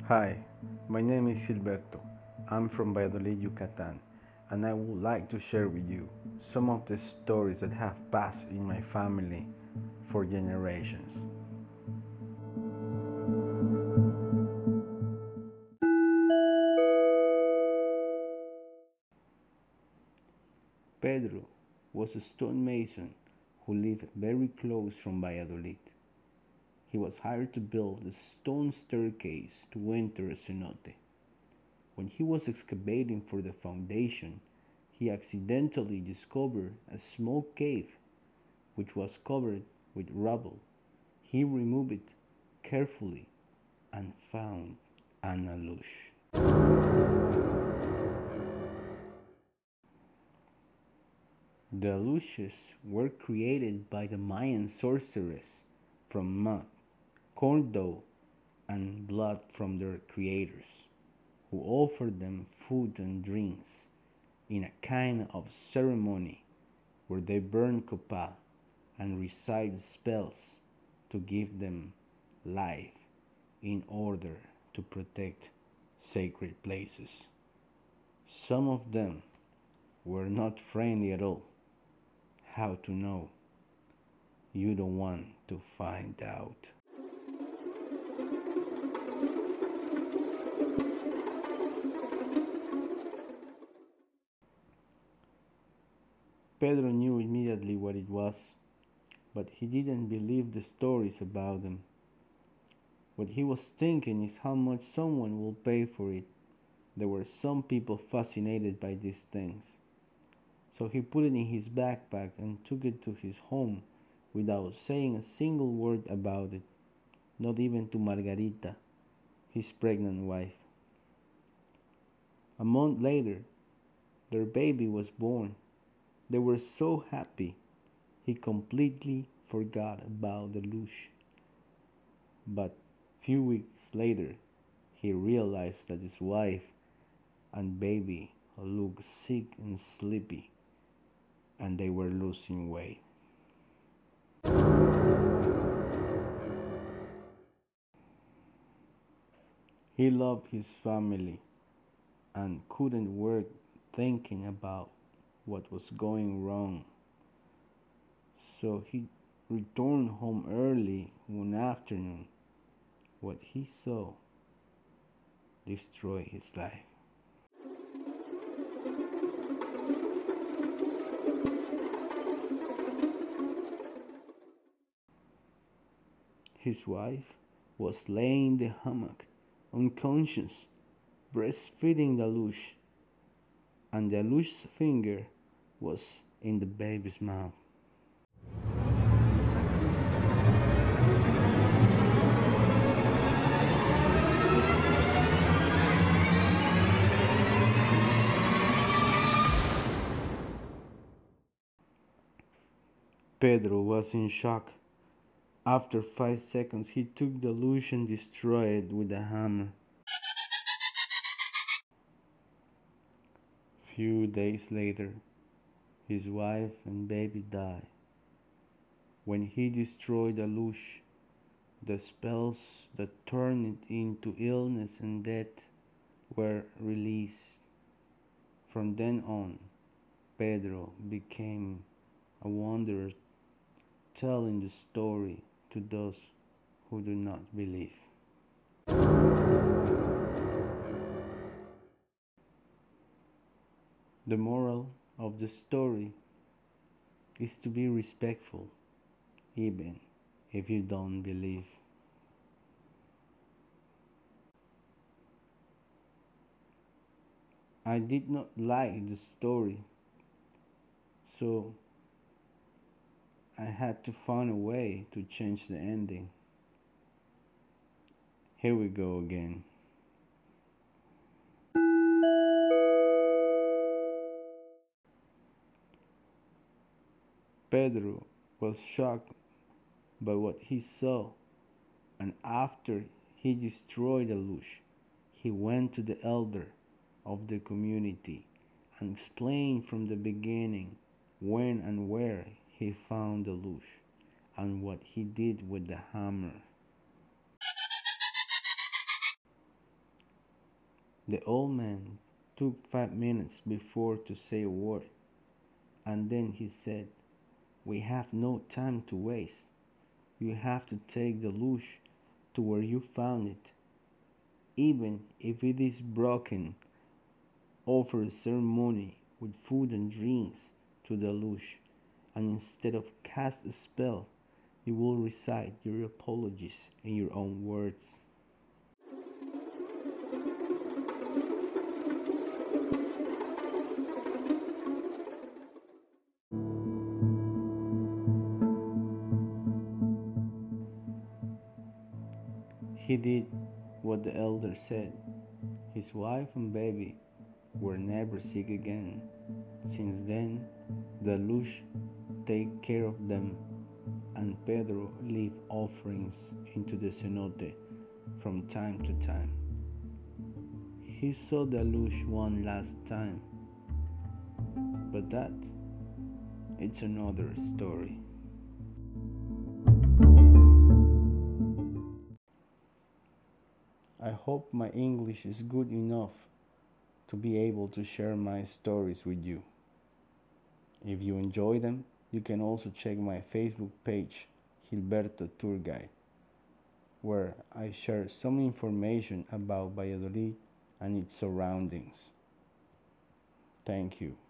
Hi, my name is Gilberto. I'm from Valladolid, Yucatan, and I would like to share with you some of the stories that have passed in my family for generations. Pedro was a stonemason who lived very close from Valladolid. He was hired to build a stone staircase to enter a cenote. When he was excavating for the foundation, he accidentally discovered a small cave which was covered with rubble. He removed it carefully and found an alush. The alushes were created by the Mayan sorcerers from mud, corn dough, and blood from their creators, who offered them food and drinks in a kind of ceremony where they burned copal and recite spells to give them life in order to protect sacred places. Some of them were not friendly at all. How to know? You don't want to find out. Pedro knew immediately what it was, but he didn't believe the stories about them. What he was thinking is how much someone will pay for it. There were some people fascinated by these things. So he put it in his backpack and took it to his home without saying a single word about it, not even to Margarita, his pregnant wife. A month later, their baby was born. They were so happy, he completely forgot about the lush. But few weeks later, he realized that his wife and baby looked sick and sleepy, and they were losing weight. He loved his family and couldn't work thinking about what was going wrong. So he returned home early one afternoon. What he saw destroyed his life. His wife was laying in the hammock, unconscious, breastfeeding the Alush, and the Alush's finger was in the baby's mouth. Pedro was in shock. After 5 seconds, he took the Alush and destroyed it with a hammer. Few days later, his wife and baby died. When he destroyed the Alush, the spells that turned it into illness and death were released. From then on, Pedro became a wanderer, telling the story to those who do not believe. The moral of the story is to be respectful, even if you don't believe. I did not like the story, so I had to find a way to change the ending. Here we go again. Pedro was shocked by what he saw, and after he destroyed the Alush, he went to the elder of the community and explained from the beginning when and where he found the Alush and what he did with the hammer. The old man took 5 minutes before to say a word, and then he said, "We have no time to waste. You have to take the luge to where you found it. Even if it is broken, offer a ceremony with food and drinks to the luge, and instead of cast a spell, you will recite your apologies in your own words." He did what the elder said. His wife and baby were never sick again. Since then, the luge take care of them, and Pedro leave offerings into the cenote from time to time. He saw the luge one last time, but that it's another story. I hope my English is good enough to be able to share my stories with you. If you enjoy them, you can also check my Facebook page, Gilberto Tour Guide, where I share some information about Valladolid and its surroundings. Thank you.